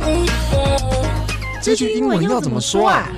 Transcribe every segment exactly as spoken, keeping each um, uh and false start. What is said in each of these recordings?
這句英文要怎麼說啊？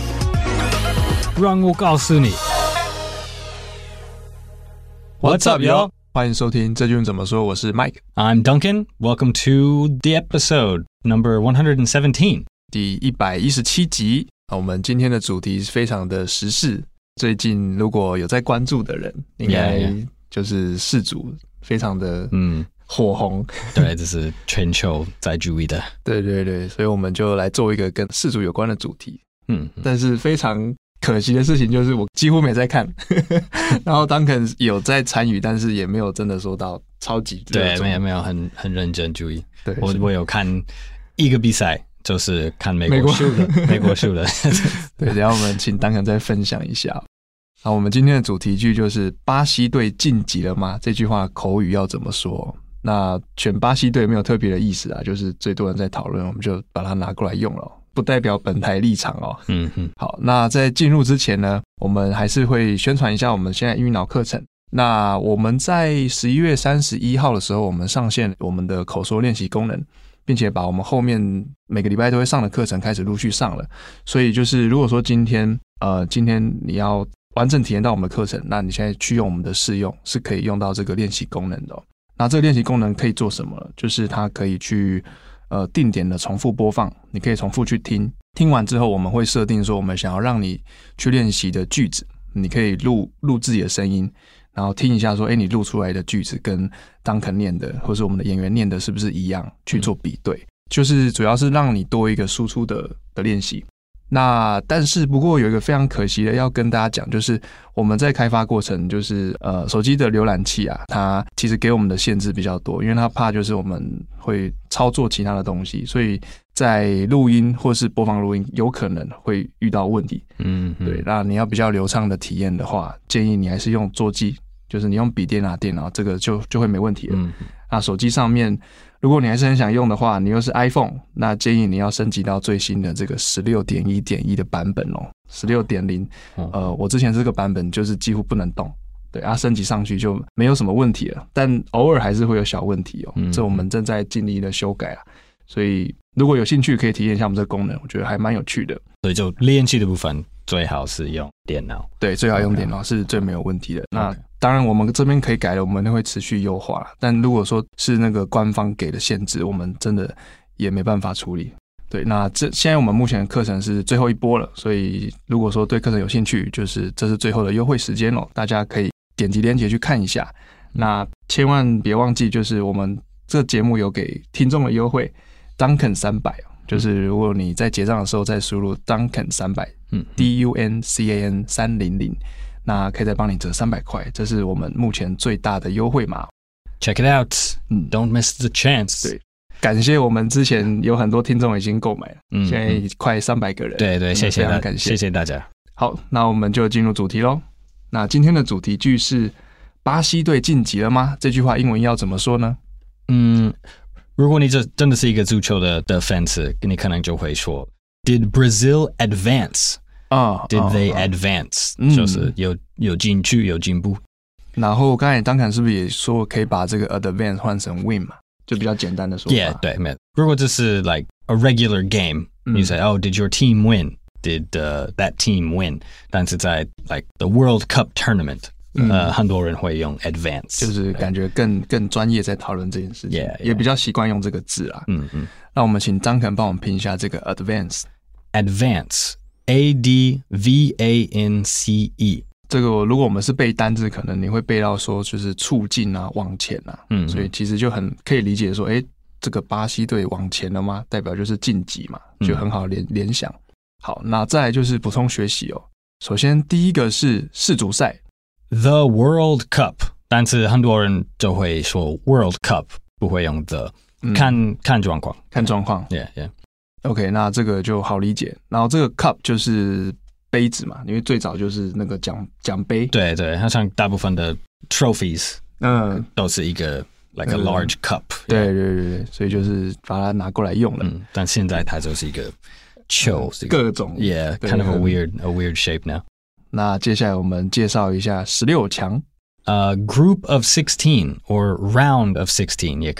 讓我告訴你。What's up, yo? 歡迎收聽這句英文怎麼說，我是 Mike。I'm Duncan. Welcome to the episode number one hundred seventeen. 第一百一十七集。我們今天的主題是非常的時事。最近如果有在關注的人，應該就是世足非常的嗯火紅。 對，這是全球在注意的。 對對對，所以我們就來做一個跟世足有關的主題。嗯，但是非常可惜的事情就是我幾乎沒在看，然後 Duncan 有在參與，但是也沒有真的說到超級對，沒有沒有很很認真注意。 對， 我我有看一個比賽。就是看美國輸的，美國輸的。 對，等一下我們請 Duncan 再分享一下。好，我們今天的主題句就是巴西隊晉級了嗎？這句話口語要怎麼說？那選巴西隊沒有特別的意思啊，就是最多人在討論，我們就把它拿過來用了，不代表本台立場哦。嗯嗯。好，那在進入之前呢，我們還是會宣傳一下我們現在英語腦課程。那我們在十一月三十一號的時候，我們上線我們的口說練習功能。並且把我們後面每個禮拜都會上的課程開始陸續上了，所以就是如果說今天呃今天你要完整體驗到我們的課程，那你現在去用我們的試用是可以用到這個練習功能的哦。那這個練習功能可以做什麼？就是它可以去呃定點的重複播放，你可以重複去聽，聽完之後我們會設定說我們想要讓你去練習的句子，你可以錄錄自己的聲音。然後聽一下說，哎，你錄出來的句子跟 Duncan 念的，或是我們的演員念的是不是一樣？去做比對，嗯、就是主要是讓你多一個輸出的的練習。那但是不過有一個非常可惜的要跟大家講，就是我們在開發過程，就是呃手機的瀏覽器啊，它其實給我們的限制比較多，因為它怕就是我們會操作其他的東西，所以在錄音或是播放錄音有可能會遇到問題。嗯，對。那你要比較流暢的體驗的話，建議你還是用桌機。就是你用筆電啊、電腦，這個就就會沒問題了。嗯，那手機上面，如果你還是很想用的話，你又是 iPhone， 那建議你要升級到最新的這個十六點一點一的版本哦。十六點零，呃，我之前這個版本就是幾乎不能動，對啊，升級上去就沒有什麼問題了，但偶爾還是會有小問題哦。嗯，這我們正在盡力的修改啊，所以如果有興趣可以體驗一下我們這個功能，我覺得還蠻有趣的。 所以就練習的部分最好是用電腦， 對，最好用電腦是最沒有問題的。Okay. 那當然，我們這邊可以改的，我們會持續優化。但如果說是那個官方給的限制，我們真的也沒辦法處理。對，那這現在我們目前的課程是最後一波了，所以如果說對課程有興趣，就是這是最後的優惠時間了，大家可以點擊鏈接去看一下。那千萬別忘記，就是我們這節目有給聽眾的優惠 ，Duncan 三百，就是如果你在結賬的時候再輸入 Duncan 三百，嗯 ，D U N C A N 三零零。那可以再幫你折三百塊，這是我們目前最大的優惠碼。 Check it out， 嗯 ，Don't miss the chance。 對，感謝我們之前有很多聽眾已經購買了，嗯，現在快三百個人。 對對，謝謝大家，感謝謝謝大家。 好，那我們就進入主題嘍。那今天的主題句是巴西隊晉級了嗎？這句話英文要怎麼說呢？ 嗯，如果你這真的是一個足球的的粉絲，你可能就會說 ，Did Brazil advance？啊、oh, ，Did they advance？、Oh, 就是有有進去有進步。 然後剛才Duncan是不是也說可以把這個 advance 換成 win 嘛？就比較簡單的說法。 Yeah， 對，沒有。如果這是 like a regular game，、嗯、you say oh did your team win？Did、uh, that team win？ 但是在 like the World Cup tournament，、嗯、呃，很多人會用 advance， 就是感覺更更專業在討論這件事情， yeah, yeah. 也比較習慣用這個字啦。嗯嗯。那我們請Duncan幫我們拼一下這個 advance。advance。A D V A N C E， 這個如果我們是背單字，可能你會背到說就是促進啊、往前啊，嗯，所以其實就很可以理解說，哎，這個巴西隊往前了嗎？代表就是晉級嘛，就很好聯聯想。好，那再來就是補充學習哦。首先第一個是世足賽 ，The World Cup， 但是很多人就會說 World Cup， 不會用 the，、嗯、看看狀況， 看狀況 ，Yeah Yeah。OK， 那這個就好理解。然後這個 cup 就是杯子嘛，因為最早就是那個獎獎杯。 對對，它像大部分的 trophies， 嗯，都是一個 like a large cup。 對對對對，所以就是把它拿過來用了。 嗯，但現在它就是一個球，嗯、 各種 ，yeah，kind of a weird a weird shape now。 那接下來我們介紹一下十六強。 呃、uh, ，group of sixteen or round of sixteen 也可以。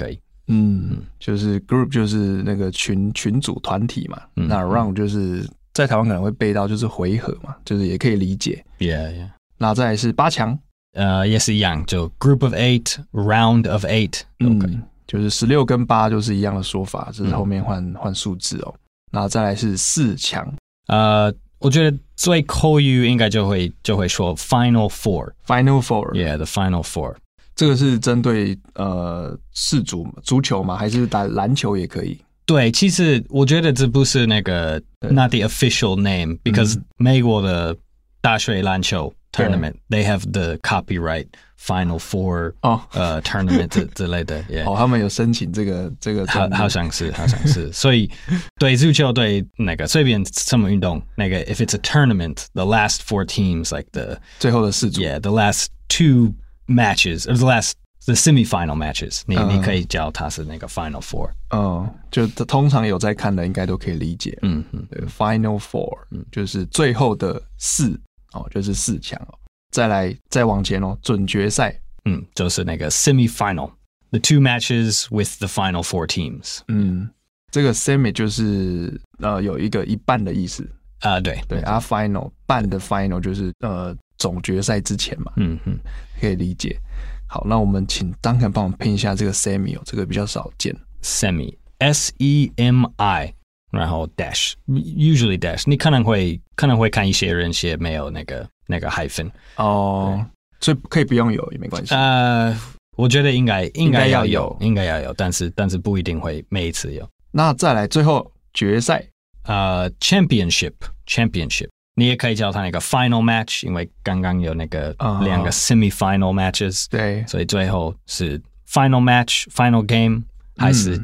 嗯，就是 group 就是那個群群組團體嘛，嗯、那 round 就是在台灣可能會背到就是回合嘛，就是也可以理解。 Yeah, yeah. 那再來是八強， 呃，也是一樣，就 group of eight, round of eight， 嗯，okay. 就是十六跟八就是一樣的說法，只是後面換換數字哦。那再來是四強， 呃，我覺得最口語應該就會就會說 final four，final four，yeah，the final four。 這個是針對呃世足足球嗎？還是打籃球也可以？ 對，其實我覺得這不是那個 not the official name，because、嗯、美國的大學籃球 tournament they have the copyright final four 哦呃 tournament 之之類的。 哦，他們有申請這個這個好好像是好像是，所以對足球對那個隨便什麼運動那個 if it's a tournament the last four teams like the 最後的四組 yeah the last two matches or the last the semi-final matches 你、嗯、你可以叫它是那個 final four 嗯，就通常有在看的應該都可以理解。嗯嗯，對 final four、嗯、就是最後的四哦，就是四強哦。再來再往前哦，準決賽， 嗯，就是那個 semi-final the two matches with the final four teams。 嗯，這個 semi 就是呃有一個一半的意思啊、呃，對對啊 final 半的 final 就是呃總決賽之前嘛，嗯嗯，可以理解。好，那我們請 Duncan 幫我們拼一下這個 semi 哦，這個比較少見。 semi S E M I 然後 dash usually dash 你可能會可能會看一些人寫沒有那個那個 hyphen 哦，所以可以不用有也沒關係。 呃，我覺得應該應該要有，應該要有，但是但是不一定會每一次有。 那再來最後決賽， 呃 championship championship 你也可以叫它那個 final match， 因為剛剛有那個兩個 semi-final matches，、uh-huh. 對， 所以最後是 final match final game 還是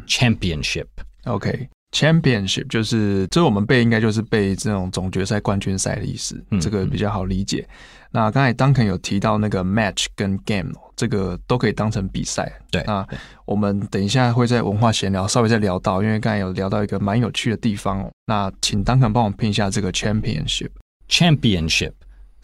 championship、嗯、OK championship 就是這我們背應該就是背這種總決賽冠軍賽的意思、嗯、這個比較好理解、嗯、那剛才 Duncan 有提到那個 match 跟 game 這個都可以當成比賽， 對， 那我們等一下會在文化閒聊稍微再聊到，因為剛才有聊到一個蠻有趣的地方哦，那請 Duncan 幫我拼一下這個 championship championship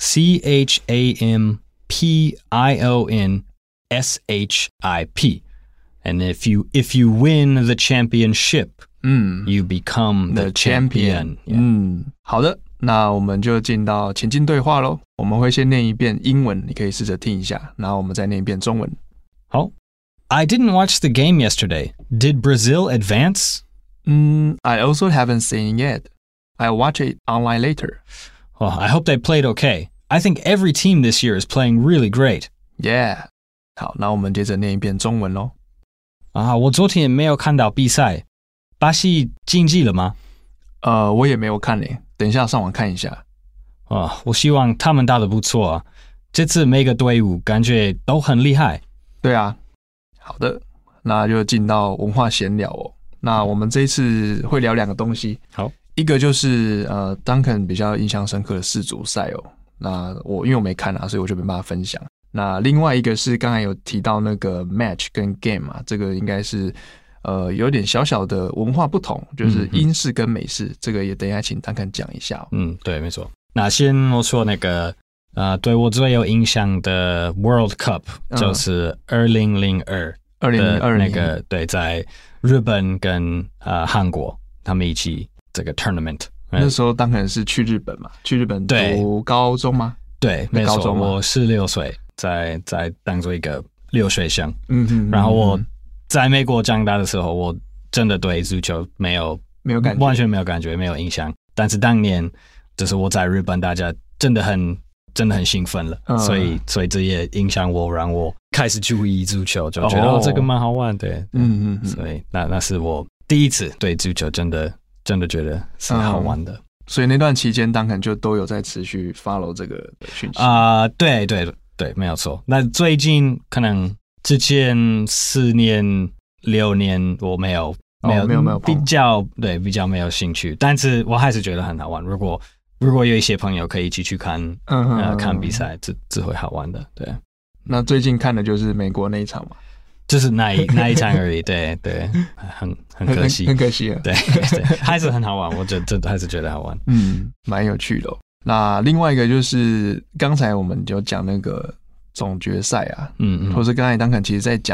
C H A M P I O N S H I P and if you if you win the championship 嗯 you become the, the champion, champion. 嗯，好的，那我們就進到情境對話咯，我們會先念一遍英文，你可以試着聽一下，然後我們再念一遍中文。 好， I didn't watch the game yesterday. Did Brazil advance? Mm, I also haven't seen it yet. I'll watch it online later. Well, I hope they played okay. I think every team this year is playing really great. Yeah. 好，那我們接着念一遍中文咯。 啊，我昨天沒有看到比賽，巴西晉級了嗎？ 呃，我也沒有看誒，等一下上網看一下。 啊，我希望他們打得不錯啊，這次每個隊伍感覺都很厲害。 對啊，好的，那就進到文化閒聊哦。那我們這一次會聊兩個東西。 好。 一個就是呃 Duncan 比較印象深刻的世足賽哦，那我因為我沒看啊，所以我就沒辦法分享。那另外一個是剛才有提到那個 match 跟 game 啊，這個應該是呃有點小小的文化不同，就是英式跟美式，嗯、這個也等一下請 Duncan 講一下哦。 嗯，對，沒錯。那先我說那個呃對我最有印象的 World Cup 就是二零零二，二零零二那個對，在日本跟呃韓國他們一起。這個 tournament 那時候當然是去日本嘛，去日本讀高中嗎？ 對，沒錯，我十六歲，在在當做一個留學生。嗯哼，然後我在美國長大的時候，我真的對足球沒有沒有感覺，完全沒有感覺，沒有印象。但是當年就是我在日本，大家真的很真的很興奮了，嗯、所以所以這也影響我，讓我開始注意足球，就覺得、哦哦、這個蠻好玩的。對，嗯嗯，所以那那是我第一次對足球真的。真的覺得是好玩的、嗯，所以那段期間，Duncan就都有在持續 follow 這個訊息啊、呃，對對對，沒有錯。那最近可能之前四年、六年我沒有、哦、沒有沒有沒有比較對比較沒有興趣，但是我還是覺得很好玩。如果如果有一些朋友可以一起去看，嗯哼嗯哼呃，看比賽，這這會好玩的。對，那最近看的就是美國那一場嘛。就是那一那一場而已，對對，很很可惜，很，很可惜啊，對對，還是很好玩，我覺得這還是覺得好玩，嗯，蠻有趣的、哦。那另外一個就是剛才我們就講那個總決賽啊，嗯嗯，或是剛才Duncan其實在講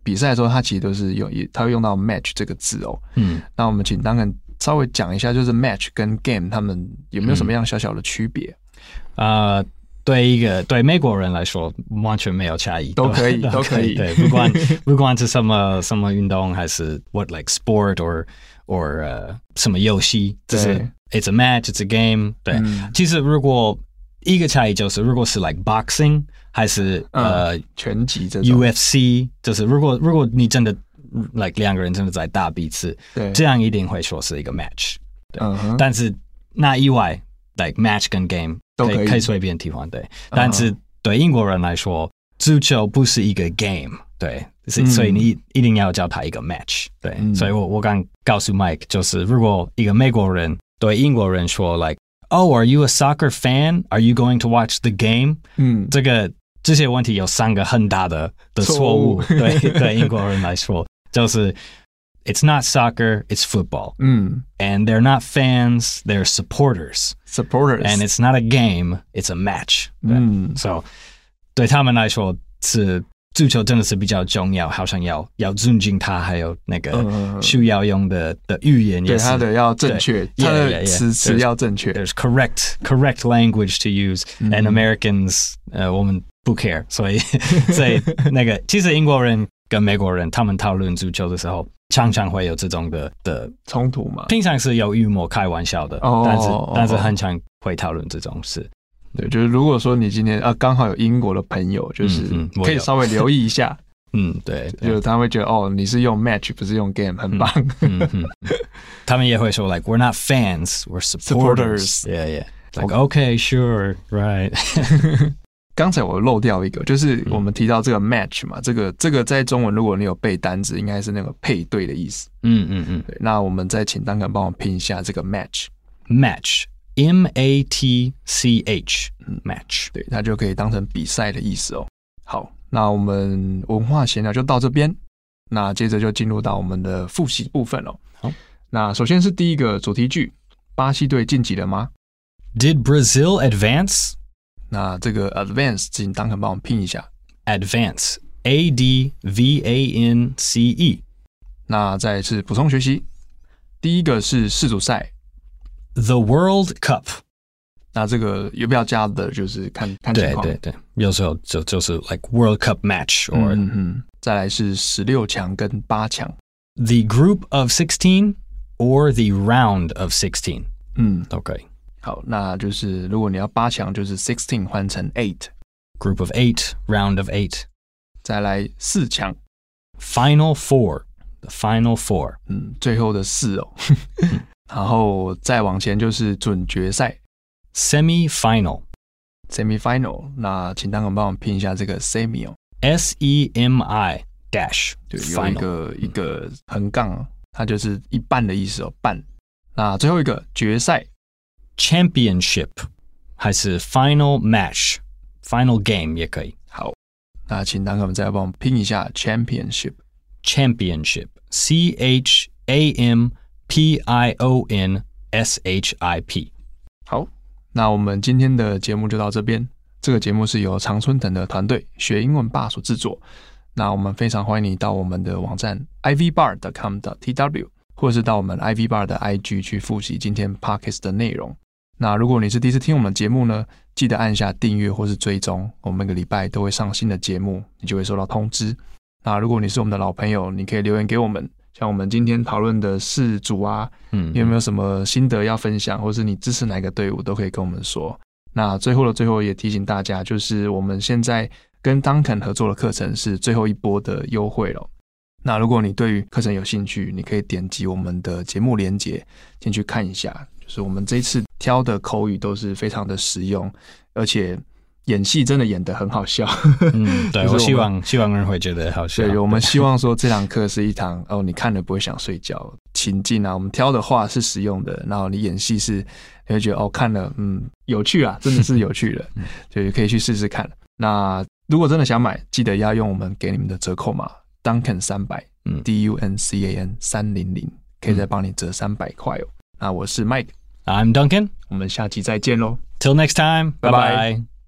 比賽的時候，它其實都是用，它會用到 match 這個字哦。嗯，那我們請 Duncan 稍微講一下，就是 match 跟 game 他們有沒有什麼樣小小的區別？ 啊、嗯呃，對一個對美國人來說，完全沒有差異， 都可以，都可以。 對，不管不管是什麼什麼運動，還是 what like sport or or 呃、uh, 什麼遊戲，就是 it's a match, it's a game。對，嗯、其實如果一個差異就是，如果是 like boxing。還是呃、嗯、 拳擊這種 U F C， 就是如果如果你真的 like 兩個人真的在打彼此，對，這樣一定會說是一個 match。對，嗯、但是那以外 like match 跟 game 都可以可以隨便替換，對。但是對英國人來說，足球不是一個 game， 對，嗯、所以你一定要叫他一個 match， 對。嗯、所以我我剛告訴 Mike， 就是如果一個美國人對英國人說 like，Oh, are you a soccer fan? Are you going to watch the game? 嗯，這個。這些問題有三個很大的的錯誤，對對英國人來說，就是 It's not soccer, it's football. 嗯 And they're not fans, they're supporters. Supporters. And it's not a game, it's a match. 嗯 So 對他們來說是足球真的是比較重要，好像要要尊敬他，還有那個需要用的的語言也是， 對他的要正確，他的詞詞要正確。 There's correct correct language to use, and Americans 呃我們不 care， 所以所以那個其實英國人跟美國人他們討論足球的時候，常常會有這種的的衝突嘛。 平常是有幽默開玩笑的，哦、但是、哦、但是很常會討論這種事。 對，就是如果說你今天啊剛好有英國的朋友，就是可以稍微留意一下。 嗯，對， 就是他會覺得哦，你是用 match 不是用 game， 很棒。 嗯嗯、他們也會說 like we're not fans, we're supporters. Yeah, yeah. Like okay, sure, right. 剛才我漏掉一個，就是我們提到這個 match 嘛，這個這個在中文如果你有背單字，應該是那個配對的意思。嗯嗯嗯。對，那我們再請Duncan幫我拼一下這個 match。match，M A T C H，match。對，它就可以當成比賽的意思哦。好，那我們文化閒聊就到這邊，那接着就進入到我們的複習部分了。好，那首先是第一個主題句，巴西隊晉級了嗎？ Did Brazil advance？ 那這個 advance 請Duncan幫我拼一下 advance A D V A N C E。 那再一次補充學習，第一個是世足賽 The World Cup。 那這個有沒有加的就是看看情況， 對對對，有時候就就是 like World Cup match or 嗯嗯，再來是十六強跟八強 The Group of sixteen or the Round of sixteen。 嗯 OK， 好，那就是如果你要八強，就是 sixteen 換成 eight Group of eight, Round of eight。 再來四強 Final Four The Final Four。 嗯，最後的四哦。然後再往前就是準決賽 Semi-final Semi-final。 那請Duncan幫我拼一下這個 semi 哦 S E M I dash。 對，有一個一個橫槓，它就是一半的意思哦，半。那最後一個決賽 Championship 還是 Final Match Final Game 也可以。 好，那請Duncan再幫我們拼一下 Championship Championship C H A M P I O N S H I P。 好，那我們今天的節目就到這邊。這個節目是由常春藤的團隊學英文吧所製作。那我們非常歡迎你到我們的網站 i v bar dot com dot t w 或者是到我們 I V Bar 的 I G 去複習今天 Podcast 的內容。那如果你是第一次聽我們節目呢，記得按下訂閱或是追蹤，我們每個禮拜都會上新的節目，你就會收到通知。那如果你是我們的老朋友，你可以留言給我們，像我們今天討論的世足啊，嗯，你有沒有什麼心得要分享，或是你支持哪個隊伍，都可以跟我們說。那最後的最後也提醒大家，就是我們現在跟 Duncan 合作的課程是最後一波的優惠了。那如果你對於課程有興趣，你可以點擊我們的節目連結進去看一下。就是我們這一次挑的口語都是非常的實用，而且演戲真的演得很好笑。 嗯，對，我希望希望人會覺得好笑。 對，我們希望說這堂課是一堂哦，你看了不會想睡覺情境啊。我們挑的話是實用的，然後你演戲是你會覺得哦，看了嗯有趣啊，真的是有趣的，就可以去試試看。那如果真的想買，記得要用我們給你們的折扣碼。Duncan 三百，嗯 ，D U N C A N 三百，可以再幫你折三百塊哦。那我是 Mike，I'm Duncan， 我們下期再見嘍。 Till next time，拜拜。